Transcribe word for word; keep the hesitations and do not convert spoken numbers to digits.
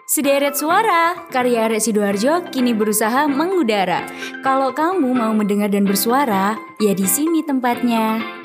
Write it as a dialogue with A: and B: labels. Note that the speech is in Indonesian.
A: Sederet Suara, karya Arek Sidoarjo kini berusaha mengudara. Kalau kamu mau mendengar dan bersuara, ya di sini tempatnya.